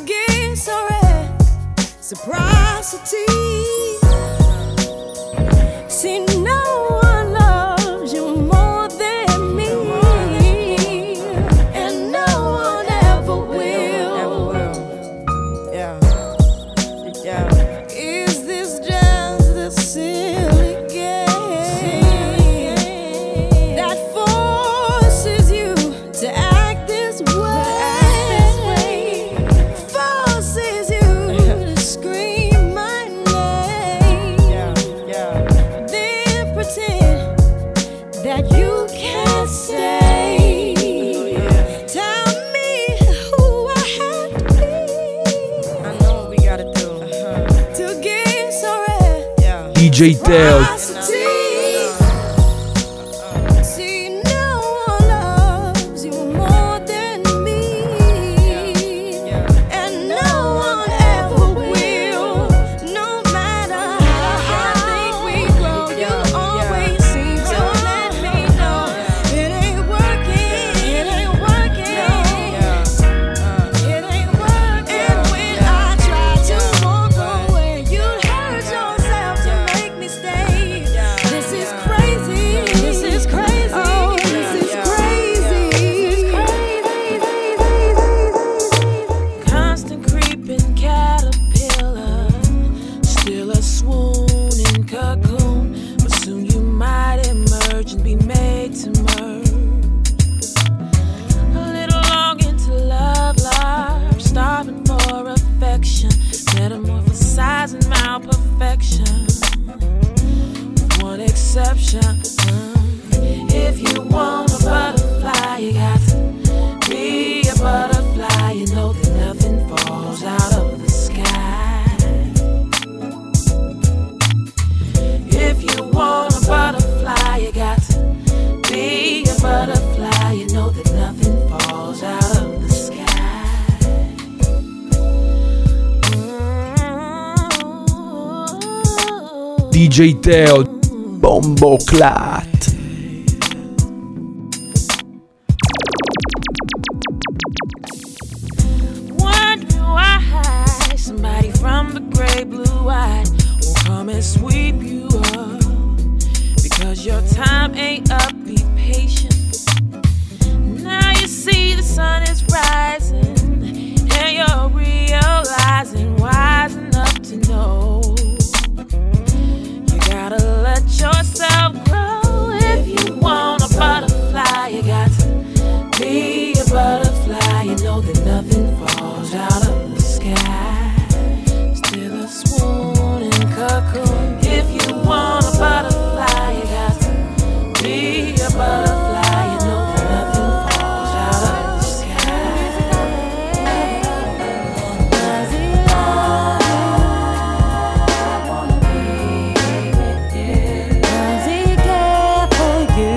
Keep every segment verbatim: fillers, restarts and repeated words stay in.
get so reciprocity. See, no one loves you more than me, and no one ever will. Yeah, yeah. Is this just a silly game that forces you to act this way? Forces you to scream my name, then pretend that you can't stay. Tell me who I have to be. I know what we gotta do to get so red. D J Teo. See, no one loves you more than me, and no one ever will. No matter how I think we grow, you always seem to let me know it ain't working, it ain't working, it ain't working. And when I try to walk away, you hurt yourself to make me stay. This is crazy, this is crazy, oh, this is crazy, constant creeping caterpillar, still a swooning cocoon, but soon you might emerge and be made to merge. A little longing to love, large, starving for affection, metamorphosizing malperfection. One exception, mm. If you want a butterfly, you got to be a butterfly. You know that nothing falls out of the sky. If you want a butterfly, you got to be a butterfly. You know that nothing falls out of the sky. Mm. D J Teo. Bombo Clat. Wondering why somebody from the gray blue eye won't come and sweep you up, because your time ain't up. Be patient. Now you see the sun is rising, and you're realizing, wise enough to know you gotta let yourself grow. If you want a butterfly, you got to be a butterfly. You know that nothing falls out of the sky. Still a swooning cocoon. If you want a butterfly, you got to be a butterfly. You know that nothing falls out of the sky. Does he wanna be with you? Does he care for you?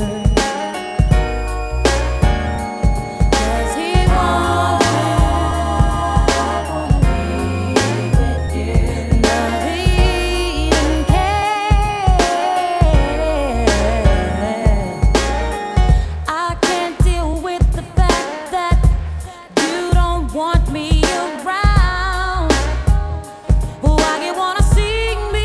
Does he want to be with you? Does he even care? I can't deal with the fact that you don't want me around. Why you wanna see me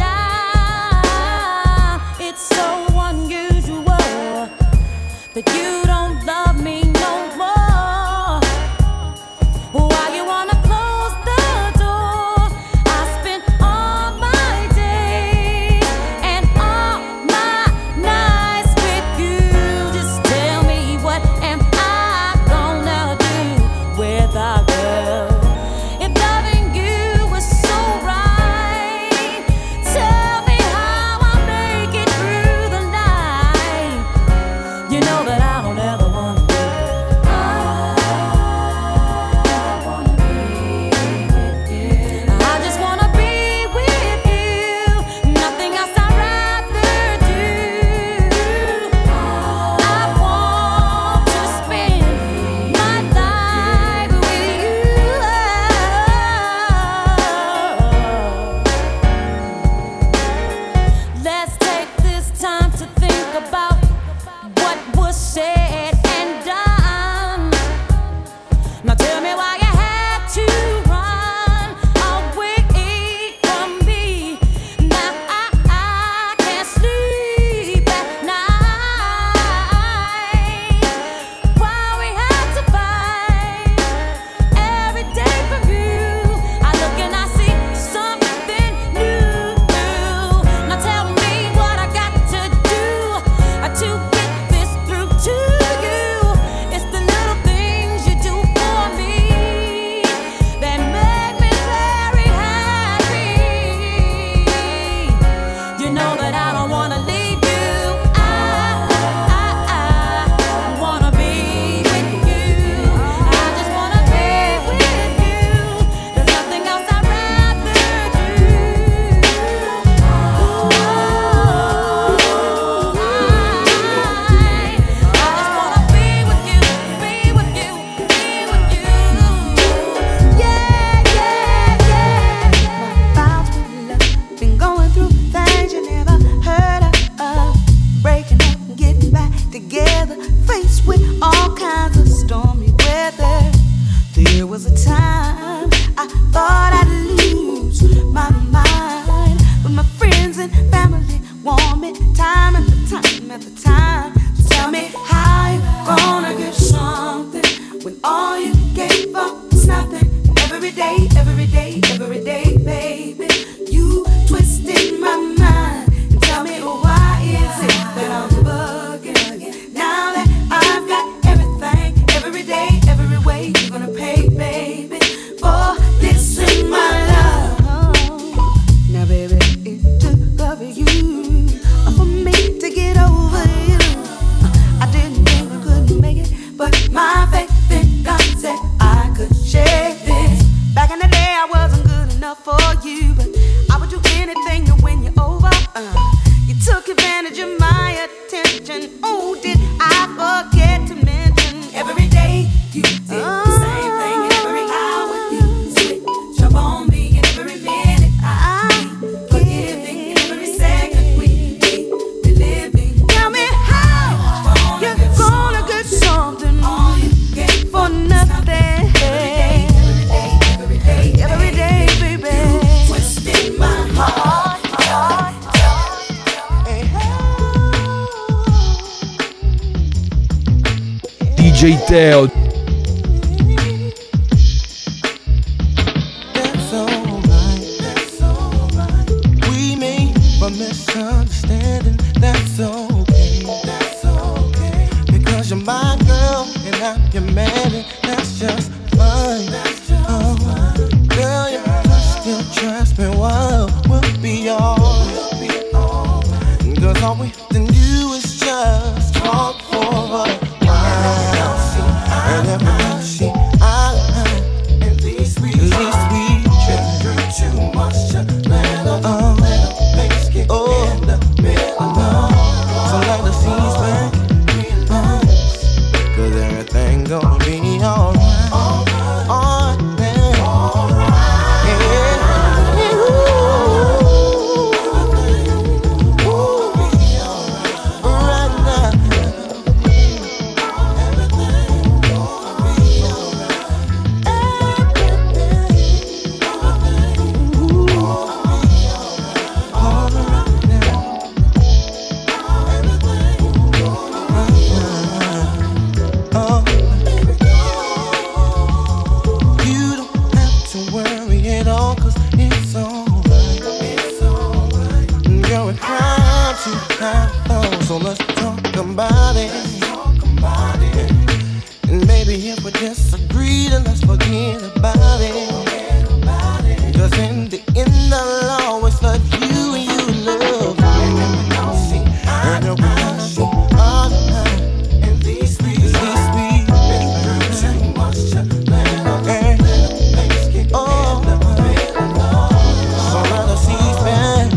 down? It's so unusual that you don't love me no more. Why you wanna close the door? I spent all my days and all my nights with you. Just tell me, what am I gonna do without you? was a time I thought I'd lose my mind, but my friends and family want me time after time after time. So tell me how you gonna get something when all you gave up was nothing. Every day, every day, every day, baby, you twisted my mind. And tell me why is it that I'm bugging now that I've got everything, every day, every way. You're gonna pay, baby, for this in my love. Now, baby, it took of you for me to get over you. I didn't think I could make it, but my faith in God said I could shake this. Back in the day, I wasn't good enough for you, but I would do anything to win you over. Uh, you took advantage of my attention. Oh, did I forget to mention every day you did the same thing, and every hour you switch up on me, and every minute I keep forgiving, and every second we be living. Tell me how you're gonna get something all you get for nothing. Every day, baby, twisting my heart, heart, heart. D J Teo. That's alright, that's alright. We made a misunderstanding. That's okay, that's okay. Because you're my girl and I'm your man, and that's just fine. That's just oh. fine. Girl, you still trust me, well, we'll be alright. Cause all we have to do is just talk for a while. And every she I at least we drink too much to let up, uh, let up things get oh. in the middle. So let the seas burn, relax, cause everything gonna be alright. Alright, man. So let's talk about it. And maybe if we disagree, then let's forget about it. Cause in the end, I'll always love you and you love me. And every time she all night, at least we, at least we been too much to let up, let up things get in the middle. So let us see, man.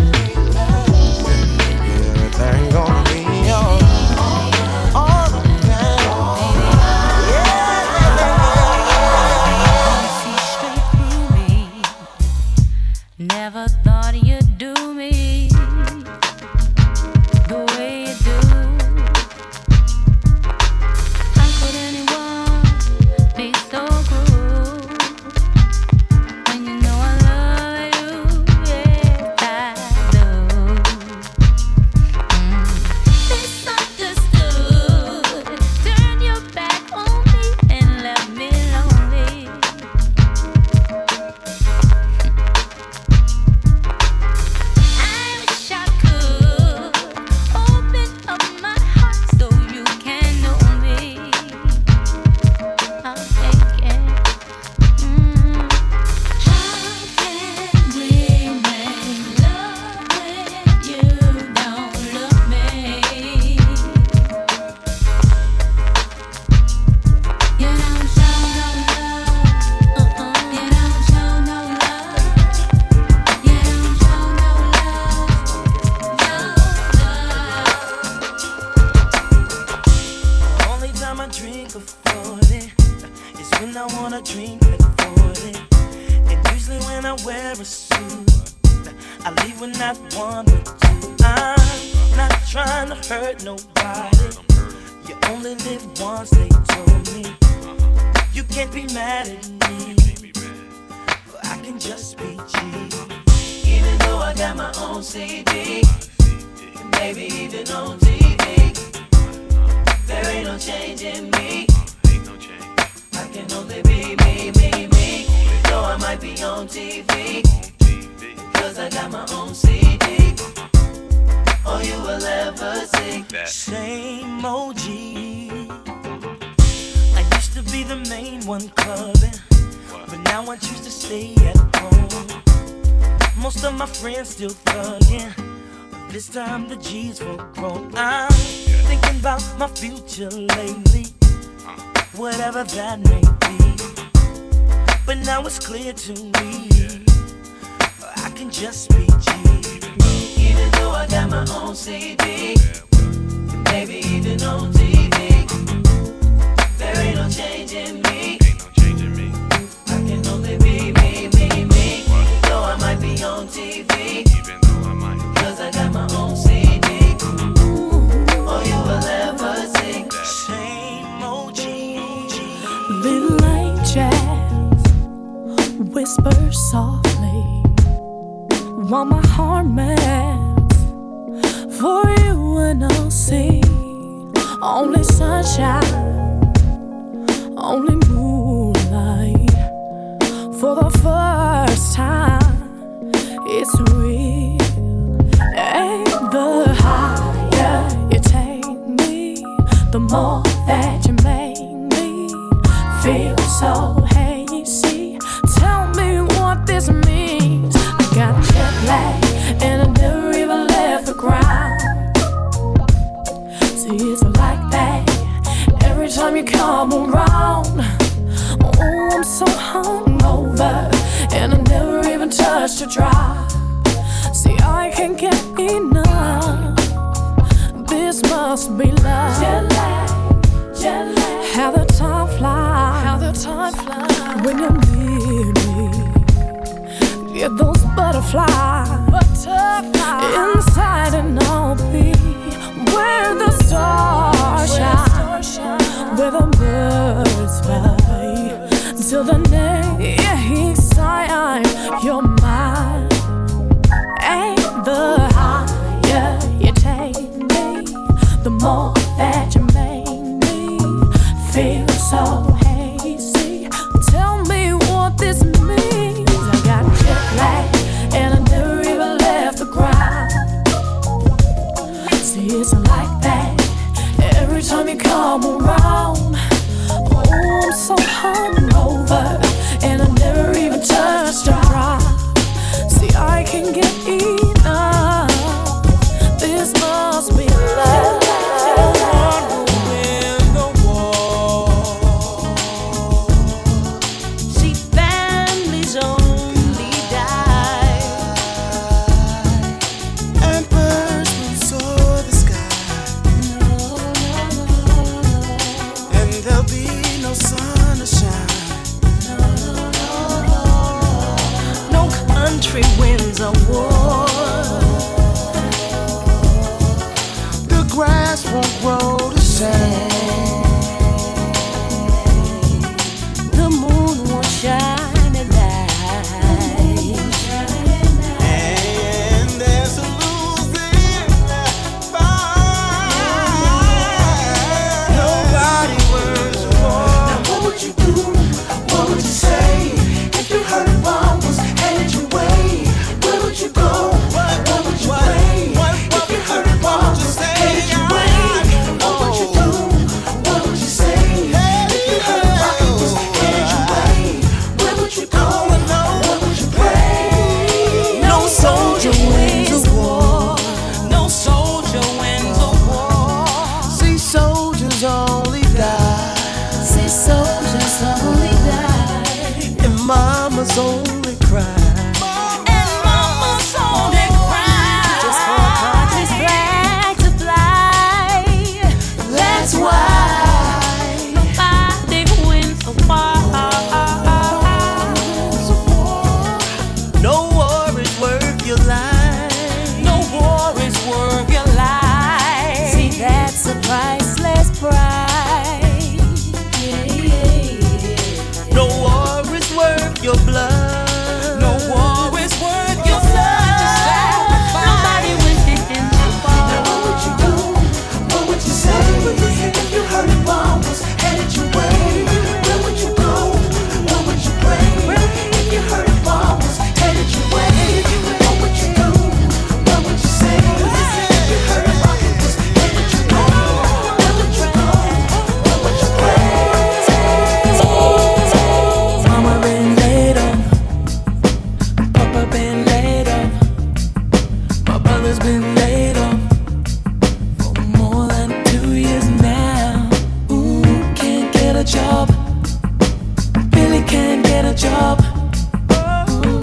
Everything gonna be never thought you'd do me the way you do. How could anyone be so cruel when you know I love you? Yes, I do. Mm. Misunderstood, turn your back on me and left me lonely. You can't be mad at me. I can just be G. Even though I got my own C D, and maybe even on T V, there ain't no change in me. I can only be me, me, me. Though I might be on T V, cause I got my own C D. All you will ever see, same O G. I used to be the main one clubbing, but now I choose to stay at home. Most of my friends still thugging, but this time the G's for grown. I'm thinking about my future lately, whatever that may be. But now it's clear to me, I can just be G. Even though I got my own C D, maybe even on T V, there ain't no change in me. I can only be me, me, me. Though I might be on T V, cause I got my own C D. All you will ever see, same O G. Little light jazz whispers softly while my heart melts for you, and I'll see only sunshine, only moonlight. For the first time, it's real. And the higher you take me, the more that you make me feel so hazy. Tell me what this means. I got jet lag and I never even left the ground. See, it's like that every time you come around. Oh, I'm so hungover and I never even touched a drop. See, I can't get enough. This must be love. Jet lag, jet lag. How the time flies, how the time flies when you're near me. Get those butterflies, butterflies inside, and I'll be where the stars shine, where the birds fly, till the next time you're mine. And the higher you take me, the more that you make me feel so hazy. Tell me what this means. I got jet lag and I never even left the ground. See, it's like that every time you come around. Oh, I'm so hungover and I never even touched a drop. See, I can't get enough. This must be love. see families only die, And birds will soar the sky, and there'll be no sun to shine. No country wins a war. The grass won't grow the same. the moon won't shine at night. And there's a losing fight. Nobody wins a war. What would you do? What would you say if you heard one was headed your way? Where would you go? What would you play if you heard one was headed your way? What would you do? What would you say if you heard one was headed your way? Where would you go? What would you play? No soldier wins a war. No soldier wins a war. See, soldiers only die, See soldiers only die, and mamas only cry. and mamas only cry just for a country's flag to fly. That's why nobody wins a war. No war is worth your life. No war is worth your life. See, that's a priceless prize. Yeah, yeah, yeah. your blood. No war is worth your blood to sacrifice. Nobody wishes in the fall. Now what would you do? What would you say if you heard a bomb was headed your way? Where would you go? What would you pray if you heard a bomb was headed your way? What would you do? What would you say if you heard a bomb was headed your way? Where would you go? What would you pray? Mama been laid off, Papa been laid off, my brother's been laid off for more than two years now. Ooh, can't get a job, Billy can't get a job. Ooh,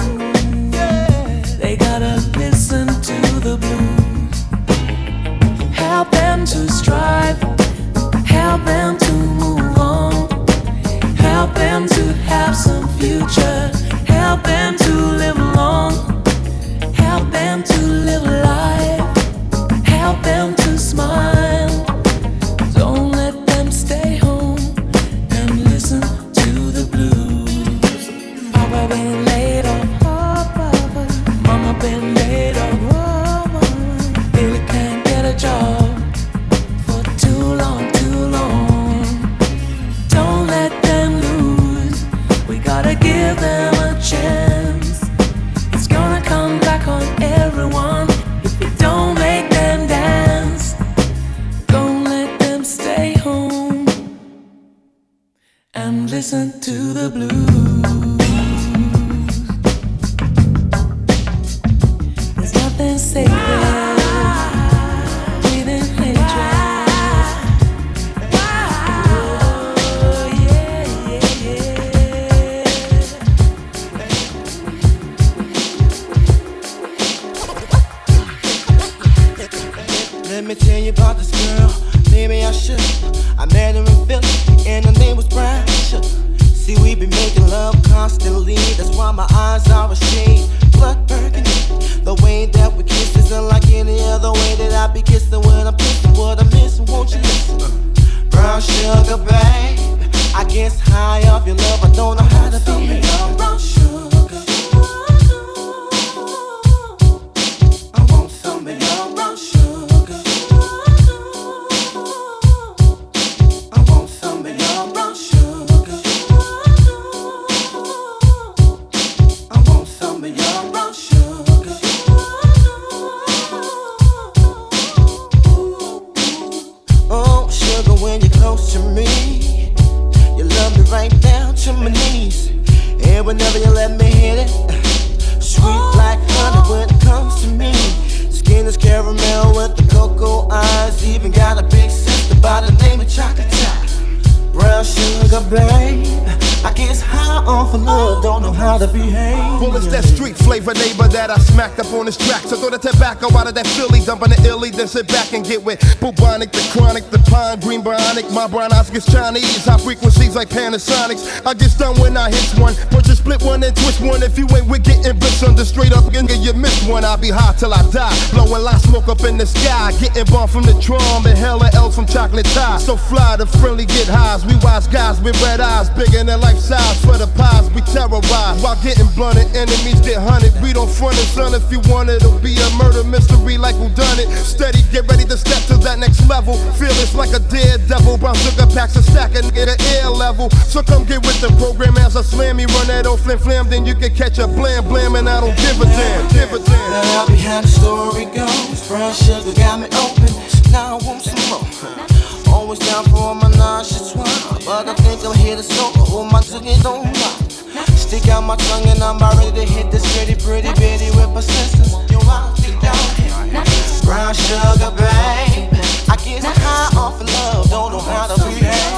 they gotta listen to the blues. Help them to strive, help them to move on. Help them to have some future. Help them to live long. Help them to live life. Help them to smile. Don't let them stay home and listen to the blues. Papa been laid off. Mama been laid off. Billy can't get a job for too long, too long. Don't let them lose. We gotta give them a chance. It's gonna come back on everyone if we don't make them dance. Don't let them stay home and listen to the blues. There's nothing sacred. Breathing hatred. Oh, yeah, yeah, yeah. Let me tell you about this girl. Maybe I should. I met her in Philly, and her name was Brown. See, we been making love constantly. That's why my eyes are a shade blood burgundy. The way that we kiss isn't like any other way that I be kissing when I'm kissing. What I'm missing, won't you listen? Brown sugar, babe. I guess high off your love, I don't know how to be. Brown sugar. I want some of your brown sugar. I want some of your brown sugar. I want some of your brown sugar. Oh, sugar, when you're close to me, you love me right down to my knees. And whenever you let me hit it, sweet like honey when it comes to me. Skin is caramel with the cocoa eyes. Even got a big sister by the name of Chocolate. Brown sugar, babe. I guess high off of love, don't know how to behave. Well, it's that street flavor neighbor that I smacked up on this track. So throw the tobacco out of that Philly, dumping the illy, then sit back and get with bubonic, the chronic, the pine, green bionic. My brown eyes gets Chinese, high frequencies like Panasonics. I get stunned when I hit one, but you split one and twist one. If you ain't with getting bliss under straight up, and you missed one, I'll be high till I die. Blowing loud smoke up in the sky, getting bomb from the drum, and hella L's from chocolate tie. So fly, the friendly get highs. We wise guys with red eyes, bigger than life size. For the pies, we terrorize while getting blunted. Enemies get hunted. We don't front it, son. If you want it, it'll be a murder mystery like who done it. Steady, get ready to step to that next level. Feel it's like a daredevil. Brown sugar packs a stack and get an air level. So come get with the program as I slam me. Run that old flim flam, then you can catch a blam blam, and I don't give a damn. Give a damn. Now behind the story goes, brown sugar got me open. Now I want some more. Always down for all my nauseous wine, but I think I'm here to solo. Oh, my ticket don't lie. Stick out my tongue and I'm about ready to hit this pretty, pretty bitty with persistence. Yo, I'll be down. Brown sugar, babe. I get high off of love, don't know how to behave.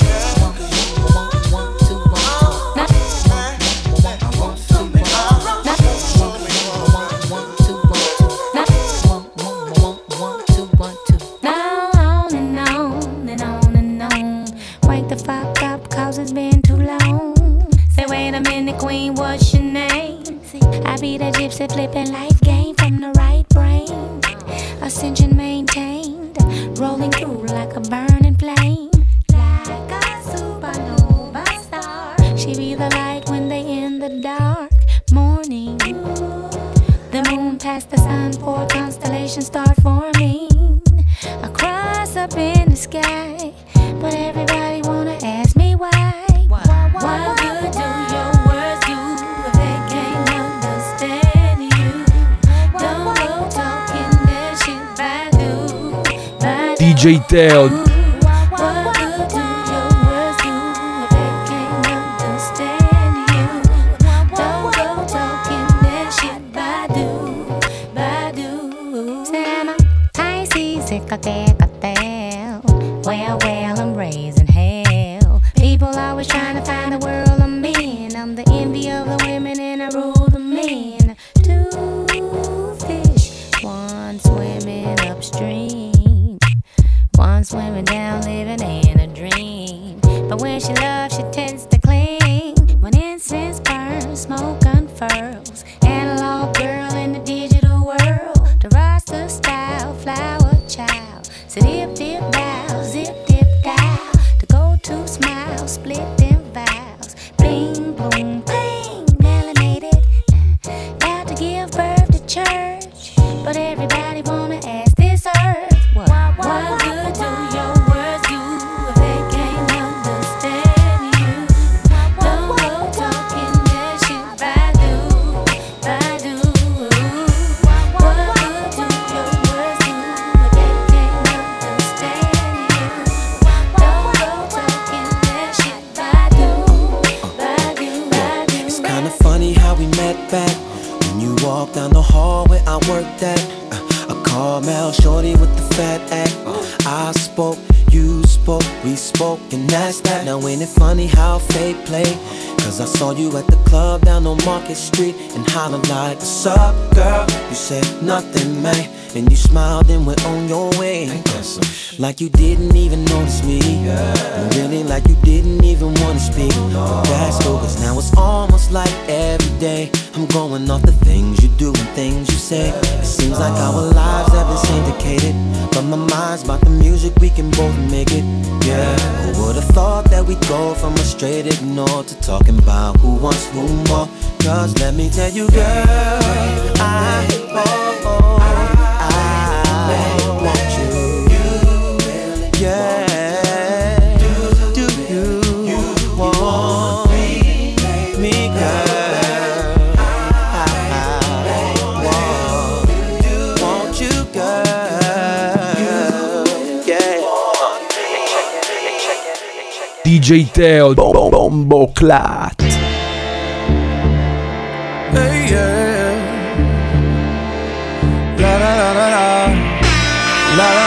Queen, what's your name? See, I be the gypsy flipping life game from the right brain. Ascension maintained, rolling through like a burning flame. Like a supernova star, she be the light when they start forming across up in the sky. But everybody wanna ask me why. Why, why, why good do your words do if they can't understand you? Don't go talking that shit, Badu, Badu. D J Teo. What good do your words do if they can't understand you? Don't go talking that shit, Badu, Badu. Sama, I see sick of that. Well, well, I'm raising hell. People always trying to find the world I'm in. I'm the envy of the women and I rule the men. Two fish, one swimming upstream, one swimming down, living in a dream. But when she loves, she tends to cling. When incense burns, smoke unfurls. Analog girl in the digital world. The Rasta style, flower child. So dip, dip, bow, zip, dip, dial. The go-to smile, split them vows. Bling, boom, bling, melanated. About to give birth to church. But everybody wanna ask this earth. What, what good do your words do if they can't understand you? Don't go talking that shit, Badu, Badu. What good do your words do if they can't understand you? Don't go talking that shit, Badu, Badu, Badu. It's kinda funny how we met back when you walked down the hall where I worked at. Uh, a Carmel shorty with the fat act. Uh, I spoke, you spoke, we spoke, and that's that. Now ain't it funny how fate play? Cause I saw you at the club down on Market Street and hollered like, what's up, girl? You said nothing, man. And you smiled and went on your way. Like you didn't even notice me. And really like you didn't even wanna speak. But that's cool, cause now it's almost like every day I'm going off the things you do and things you say. It seems like our lives have been syndicated, but my mind's about the music, we can both make it. Yeah, who would've thought that we'd go from a straight ignore to talking about who wants who more? Cause let me tell you, girl, I, oh, oh, I want you. Yeah. Do you want me, girl? I want, want you, girl. Yeah. D J Teo. Bombo Clat. Hey, yeah. La la la la la la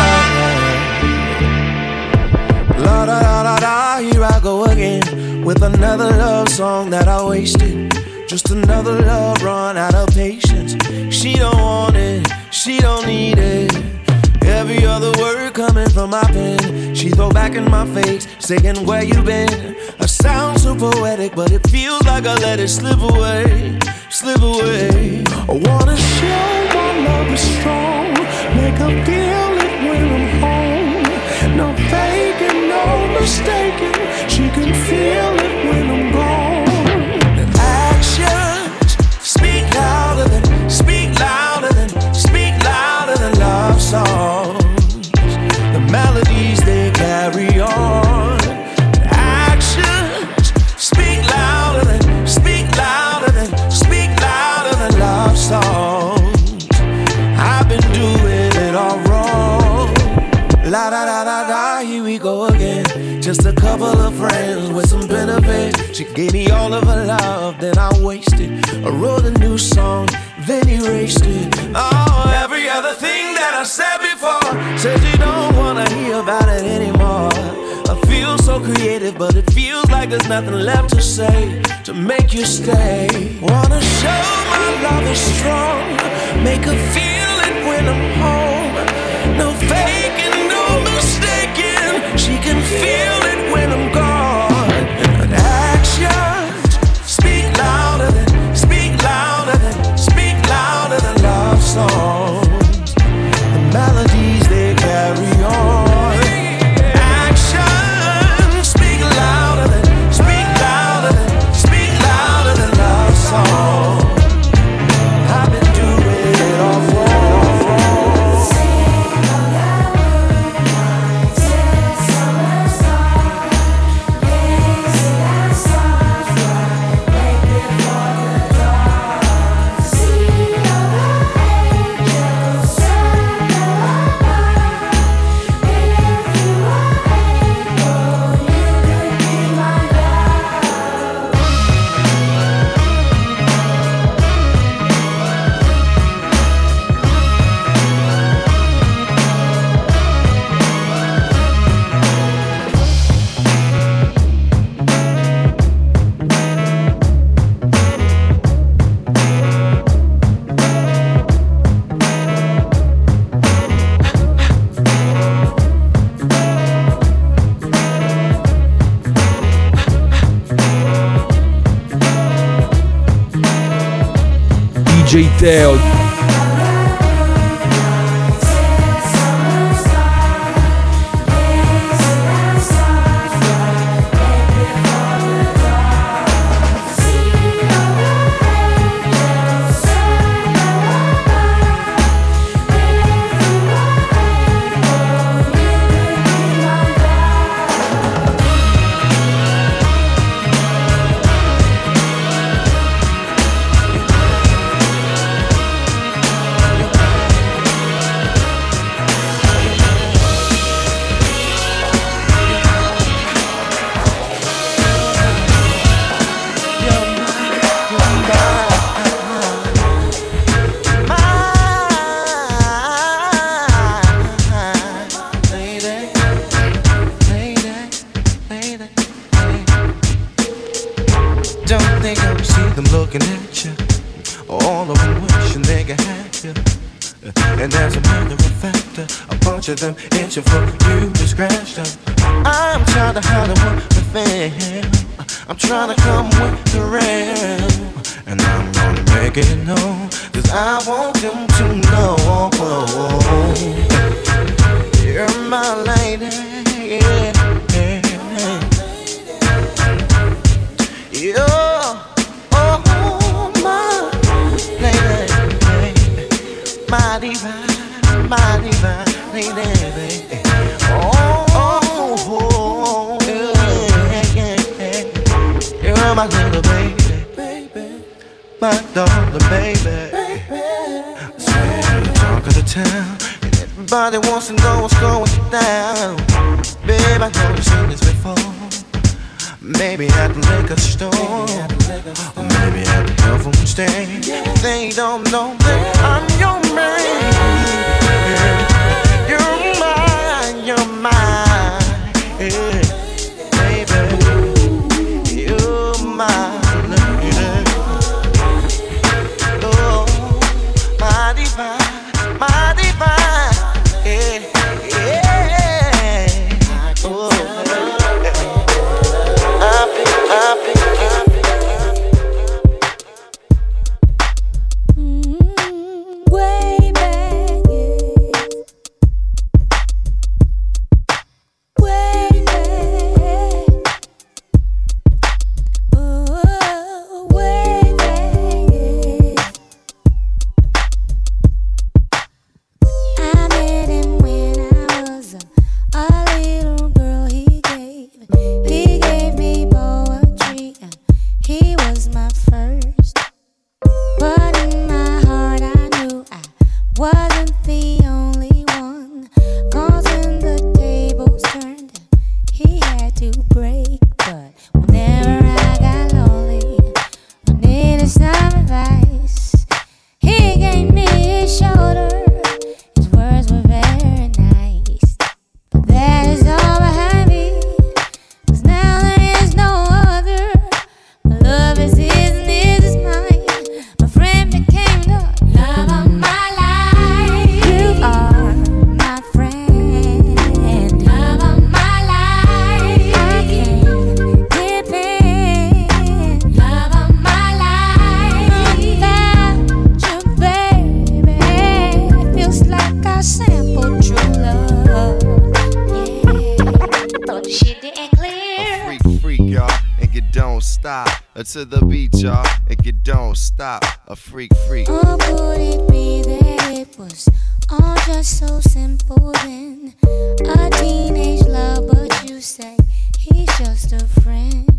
la la la la la. Here I go again with another love song that I wasted. Just another love run out of patience. She don't want it, she don't need it. Every other word coming from my pen, she throw back in my face, saying where you been. I sound so poetic, but it feels like I let it slip away, slip away. I wanna show my love is strong, make her feel it when I'm home. No faking, no mistaking, she can feel it when I'm gone. And actions speak louder than, speak louder than, speak louder than love songs. The melodies they carry on. Actions speak louder than, speak louder than, speak louder than love songs. I've been doing it all wrong. La da da da da, here we go again. Just a couple of friends with some benefits. She gave me all of her love, then I wasted. I wrote a new song, then erased it. Oh, every other thing that I said before, said you don't wanna hear about it anymore. I feel so creative, but it feels like there's nothing left to say to make you stay. Wanna show my love is strong, make her feel it when I'm home. No faking, no mistaking, she can feel it when I'm gone. And actions speak louder than, speak louder than, speak louder than love songs. The melodies they carry on. Actions speak louder than, speak louder than, speak louder than love songs. I've been doing it all wrong. D J Teo. To them itching for you to scratch them. I'm trying to hide what the feel. I'm trying to come with the real, and I'm gonna make it known, cause I want them to know you're my lady. Yeah, yeah. You're oh my lady, my divine, my divine. Lady, oh, oh, oh, yeah, yeah, yeah. You're my little baby, my darling baby. Swear the talk of the town, and everybody wants to know what's going down. Babe, I know you've seen this before. Maybe at the liquor store, or maybe at the health food stand. They don't know that I'm your man. You're mine, yeah, baby. You're my lady. Oh, my divine, my divine, yeah, yeah. Oh, I've been, I've been, I've been. To the beat, y'all, and you don't stop. A freak, freak. Or could it be that it was all just so simple then? A teenage love, but you say he's just a friend.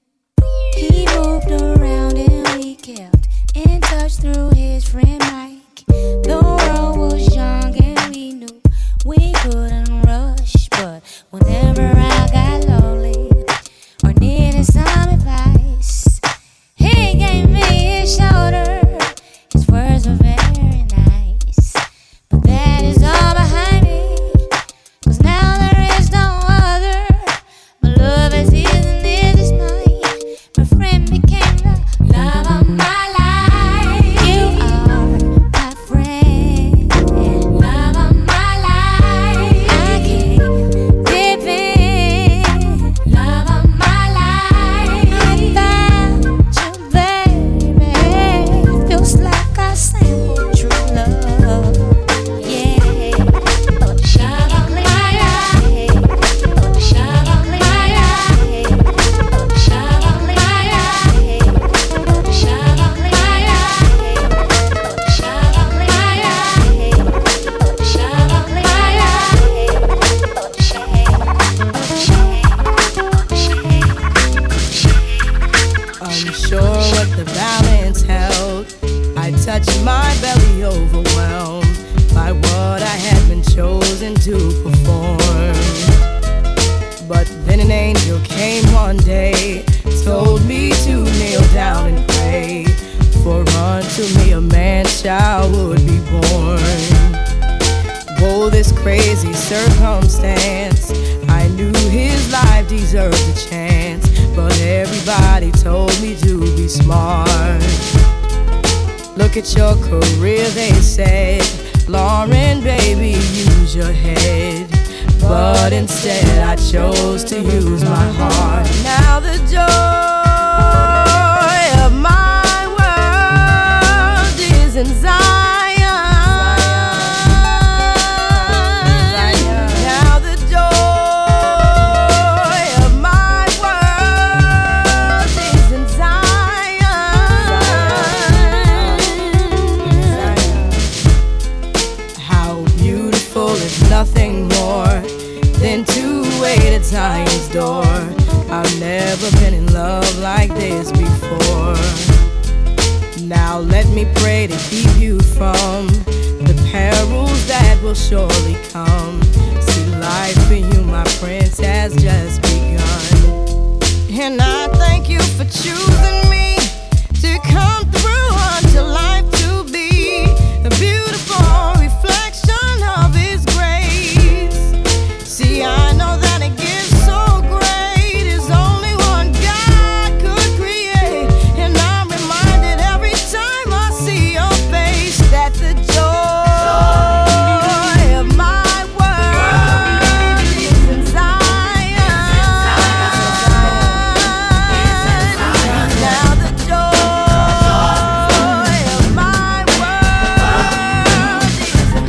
He moved around and we kept in touch through his friend Mike. The world was young and we knew we couldn't rush, but whenever I got lonely or needed some advice, he gave me his shoulder. His words were very nice, but that is all behind me, 'cause now there is no other. My love is his and his is mine. sure what the balance held. I touched my belly overwhelmed by what I had been chosen to perform. But then an angel came one day, told me to kneel down and pray, for unto me a man's child would be born. Whoa, this crazy circumstance, I knew his life deserved a chance, but everybody told me to be smart. Look at your career, they said, Lauren, baby, use your head. But instead I chose to use my heart. Now the joy of my world is in Zion. Now the joy of my world is in Zion. How beautiful is nothing more than to wait at Zion's door. I've never been in love like this before. Now let me pray to keep you from the perils that will surely come. See, life for you, my prince, has just begun. And I thank you for choosing me to come through unto life to be a beautiful reflection of his grace. See, I know that a gift so great is only one God could create. And I'm reminded every time I see your face that the joy of my world is in Zion. Now the joy of my world is in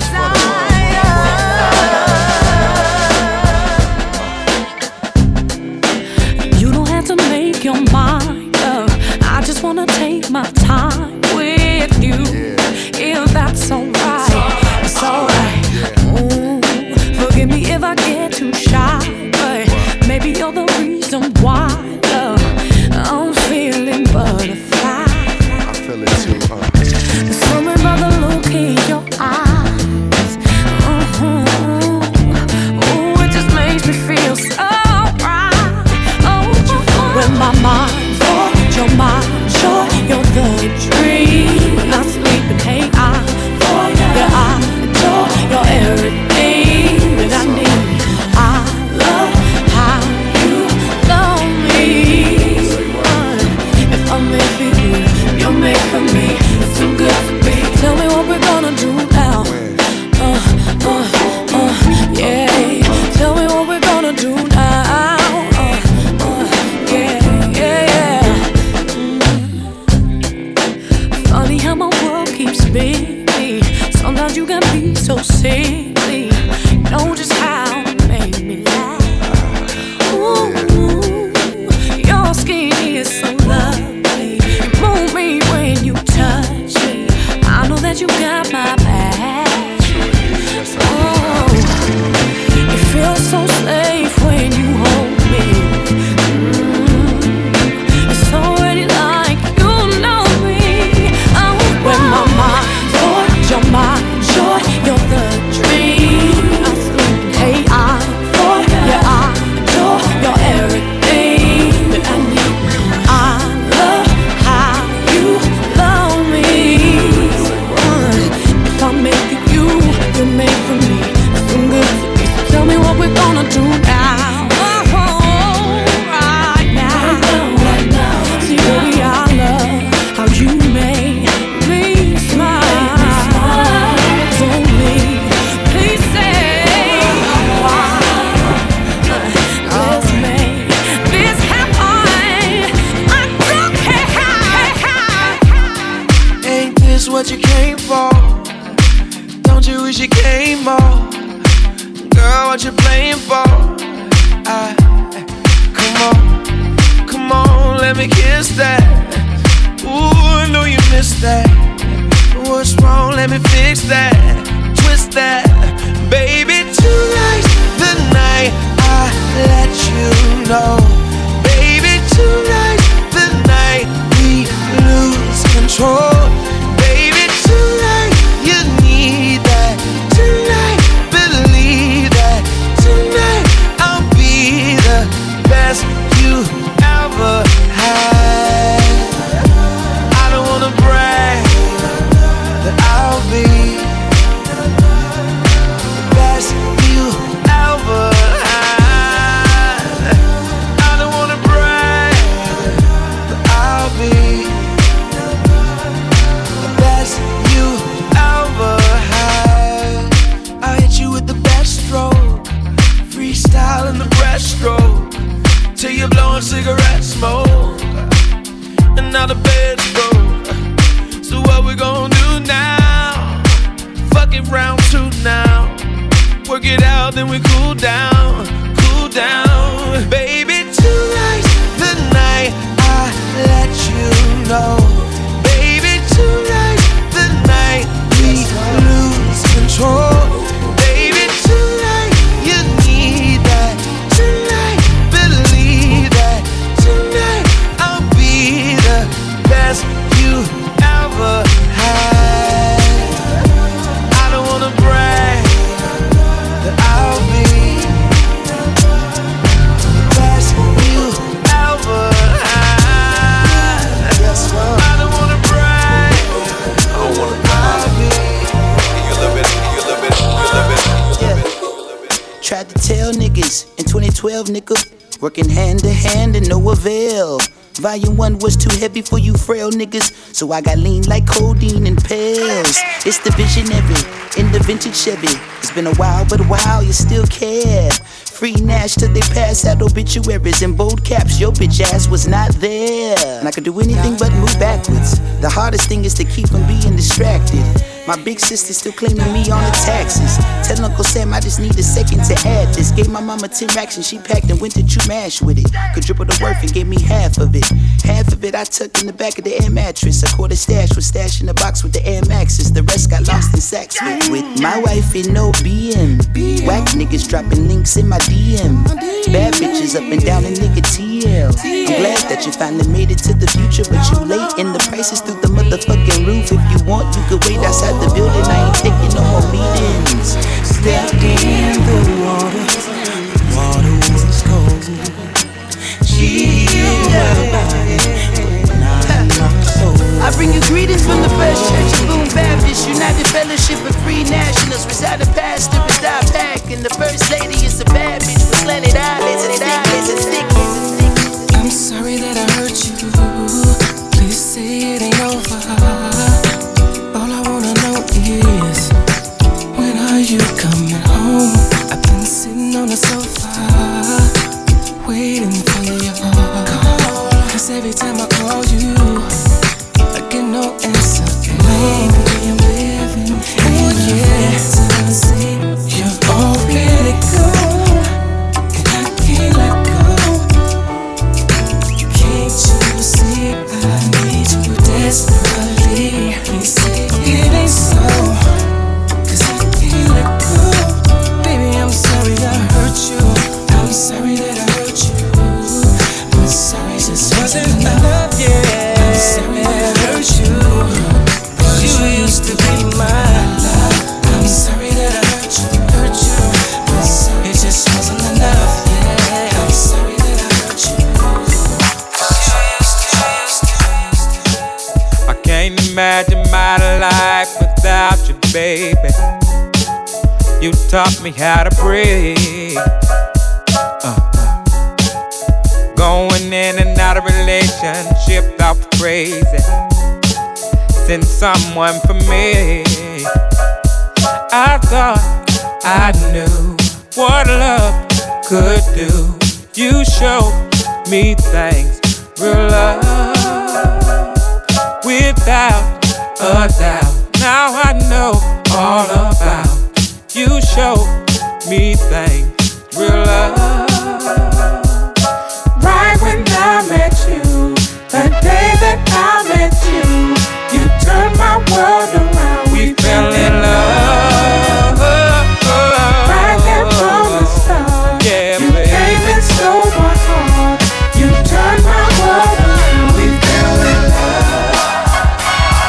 Zion. You don't have to make your mind up. I just wanna take my time with you. If that's alright, it's alright. Ooh, forgive me if I get too shy, but maybe you're the reason why, love, I'm feeling butterfly. I feel it too, huh? There's something about the look in your eyes. Mhm. Ooh, it just makes me feel so right. Oh, when my mind's on your mind, sure you're the dream. When I'm sleeping, hey, I'm for you. Yeah, I adore you're everything that I need. I love how you love me. If I'm made for you, you're made for me. It's too good to be. Tell me what we're gonna do now. Uh, uh, uh, yeah. Tell me what we're gonna do now. Uh, uh, yeah, yeah, yeah. Mm. Funny how my world keeps spinning. Sometimes you can be so silly. You know just how to make me laugh. Ooh, your skin is so lovely. You move me when you touch me. I know that you got my back. Oh, it feels so safe when you hold me. Mm, it's already like you know me. Oh, when my mind's on your mind, sure you're the dream. I'm sleeping, hey, I'm for you. Yeah, I adore you're everything that I need. I love how you love me. Mm, if I make it you, you make for me. It's too good to be. So tell me what we're gonna do now. Oh, right now, right now. See, baby, I love how you make me smile. For me, please say why. Let's make this happen. I don't care. Ain't this what you came for? Don't you wish you came more? Girl, what you playing for? I, come on, come on, let me kiss that. Ooh, I know you missed that. What's wrong? Let me fix that. Twist that. Baby, tonight's the night I let you know. Baby, tonight's the night we control. Baby, tonight you need that. Tonight, believe that. Tonight, I'll be the best you ever had. I don't wanna brag, but I'll be the best you ever had. I don't wanna brag, but I'll be the best you ever had. I'll hit you with the best stroke, freestyle in the breaststroke, till you're blowing cigarette smoke, and now the bed's broke. So what we gon' do now? Fuck it, round two now. Work it out, then we cool down, cool down. Baby, tonight's the night I let you know. Baby, tonight's the night we lose control. Baby, tonight you need that. Tonight, believe that. Tonight, I'll be the best you ever had. I don't wanna brag, but I'll be the best you ever had. I don't wanna brag, I don't wanna brag. I'll be. You live it, you live it, you live it, you live it, you live it. Tried to tell niggas in twenty twelve, nigga, working hand to hand and no avail. Volume one was too heavy for you frail niggas, so I got lean like codeine and pills. It's the visionary in the vintage Chevy. It's been a while, but a while you still care. Free Nash till they pass out obituaries in bold caps. Your bitch ass was not there, and I could do anything but move backwards. The hardest thing is to keep from being distracted. My big sister still claiming me on the taxes. Tell Uncle Sam I just need a second to add this. Gave my mama ten racks and she packed and went to Chumash with it. Could triple the worth and gave me half of it. Half of it I tucked in the back of the air mattress. A quarter stash was stashed in the box with the Air Maxes. The rest got lost in sacks with, with my wife in no B M. Whack niggas dropping links in my D M. Bad bitches up and down in nigga T L. I'm glad that you finally made it to the future, but you late and the prices through the motherfucking roof. If you want, you could wait outside the building. I ain't taking no more meetings. Stepped in the water, water was cold. She healed my body, but not my soul. I bring you greetings from the First Church of Boone Baptist, United Fellowship of Free Nationals. Reside a pastor, reside pack, and the first lady is a bad bitch with slanted eyelids and eyelids and thick. I'm sorry that I hurt you. Please say it ain't over. All I wanna know is, when are you coming home? I've been sitting on the sofa, waiting for your call. Cause every time I call you, I get no answer. Blame me, I'm living. Oh yeah, see, you're already gone, and I can't let go. Can't you see I need you desperately? Please say it ain't so, cause I can't let go. Baby, I'm sorry that I hurt you. I'm sorry that I hurt you. I'm sorry just wasn't enough, yeah. I'm sorry that I hurt you. You used to be my love. I'm sorry that I hurt you, hurt you. I'm sorry, it just wasn't enough, yeah. I'm sorry that I hurt you. I can't imagine my life without you, baby. You taught me how to breathe. Uh, uh. Going in and out of relationship, that was crazy. Send someone for me. I thought I knew what love could do. You showed me things, real love, without a doubt. Now I know all about. You showed me things, real love. Right when I met you, the day that I met you, you turned my world around. We fell in love. Right there from the start. Yeah, you baby. Came and stole my heart. You turned my world around. We fell in love.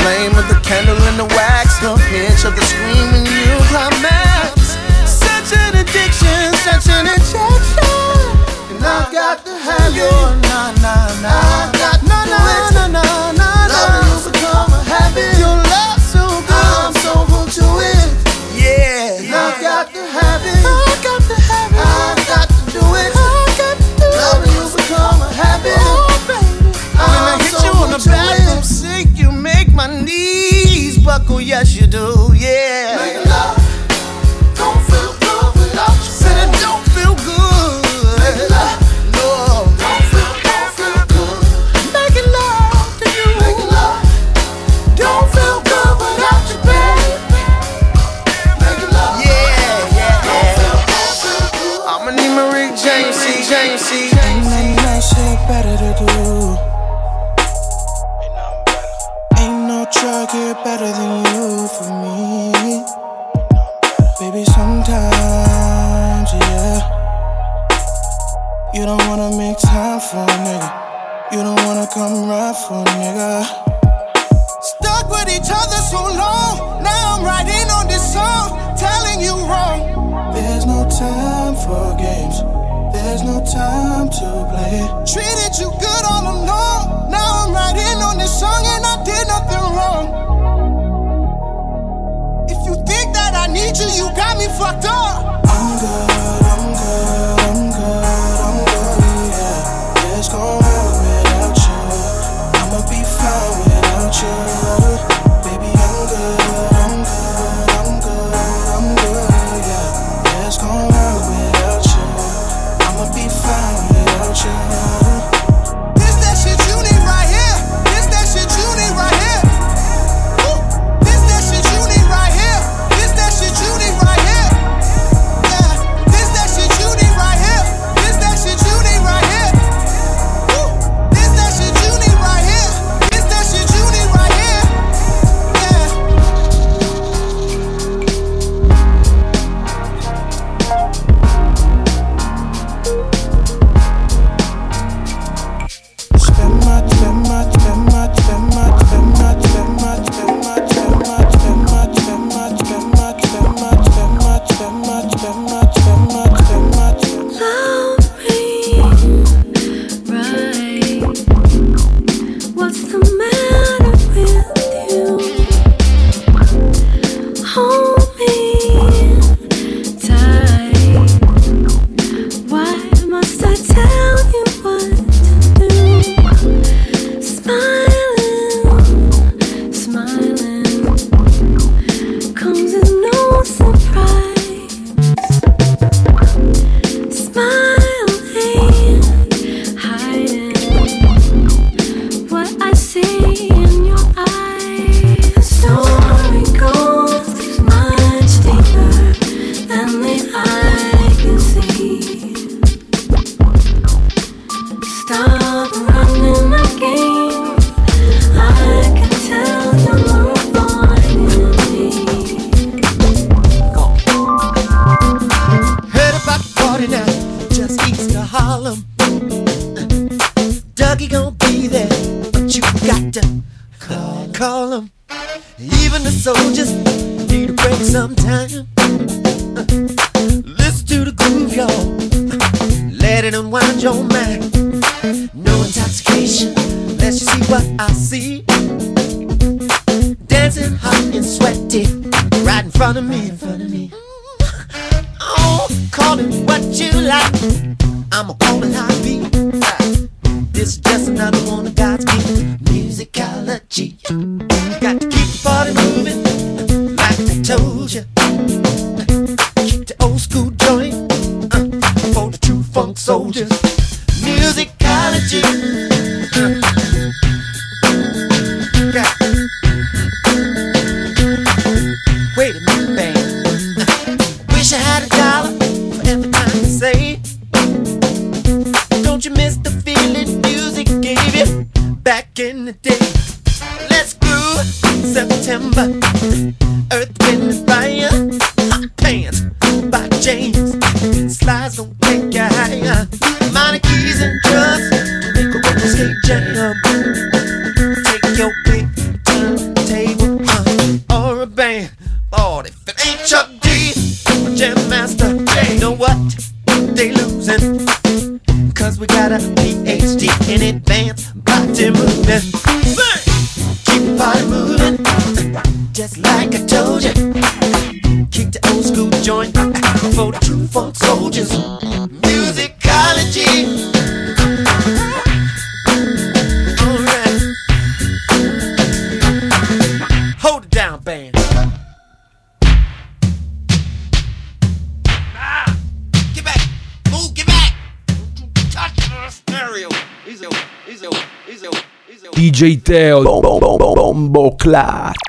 flame of the candle and the wax, the pitch of the scream and you climax. Such an addiction, such an injection. And I got to have your na na na. I got na na na na na. Loving you become a habit. Your love so good, I'm so hooked to it. Yeah, and I got to have it. I got to have it. I got to do it. I got to do it. Loving you become a habit. Oh baby, when I hit you on the bathroom sink, you make my knees buckle. Yes you do. Yeah. Make love. Don't feel good without you. Said it don't feel good. Make love. No. Don't feel, don't feel good. Making love to you. Make love. Don't feel good without you, baby. Making love. Yeah, yeah, yeah. Don't feel, don't feel good. I'ma need my Rick James, C, James, C. Ain't nothing that shit better to do. Ain't no drug here better than you for me. Baby, sometimes, yeah, you don't wanna make time for a nigga. You don't wanna come right for a nigga. Stuck with each other so long. Now I'm writing on this song, telling you wrong. There's no time for games. There's no time to play. Treated you good all along. Now I'm writing on this song and I did nothing wrong. If you think that I need you, you got me fucked up. I'm good, I'm good, I'm good, I'm good, yeah. It's gon' hurt without you. I'ma be fine without you. Baby, I'm good, I'm good, I'm good, I'm good, yeah. It's gon' hurt without you. I'ma be fine without you. This that shit you need right here. This that shit you need right here. Ooh. This that shit you need right here. This that shit you need right here. Yeah. This that shit you need right here. This that shit you need right here. Ooh. This that shit you need right here. This that shit you need right here. Yeah. Spend my, spend my, spend my, spend my, spend my, spend my, spend my, spend my, spend my, spend my, spend my, spend my, spend my, spend my, spend my, spend my, spend my. Love me right. What's the matter with you? Hold me tight. Why must I tell you what to do? Smiling, smiling comes as no surprise. Smiling, hiding what I see in your eyes. The story goes much deeper than the eye can see. Stop running my game. I can tell you're moved on in me. Heard about the party now, just east of Harlem. Dougie gon' be there, but you got to call, call him. Even the soldiers need a break sometime. Listen to the groove, y'all. Let it unwind your mind. No intoxication, unless you see what I see. Dancing hot and sweaty, right in front of me, in front of me. Oh, call it what you like. I'ma call it how it be. This is just another one of God's gift musicology. Got to keep the party moving, like I told ya. Keep the old school joint uh, for the true funk soldiers. Musicology. Uh. Yeah. Wait a minute, babe. Uh. Wish I had a dollar for every time you say. Don't you miss the feeling music gave you back in the day? Let's groove September. Earth, Wind and Fire. Hot Pants by James. Slides don't take you higher. Minor keys and drums to make a roller skate jam. Take your pick, turntable. ain't Chuck D, Jam Master. You know what? They losing. Cause we got a P H D in advance, body moving. Keep the body moving, just like I told you. Kick the old school joint for the true funk soldiers. Musicology. Alright. Hold it down, band. Ah, get back, move, get back. Touch the stereo. Easy, easy, easy, easy. D J Teo Bombo Clat.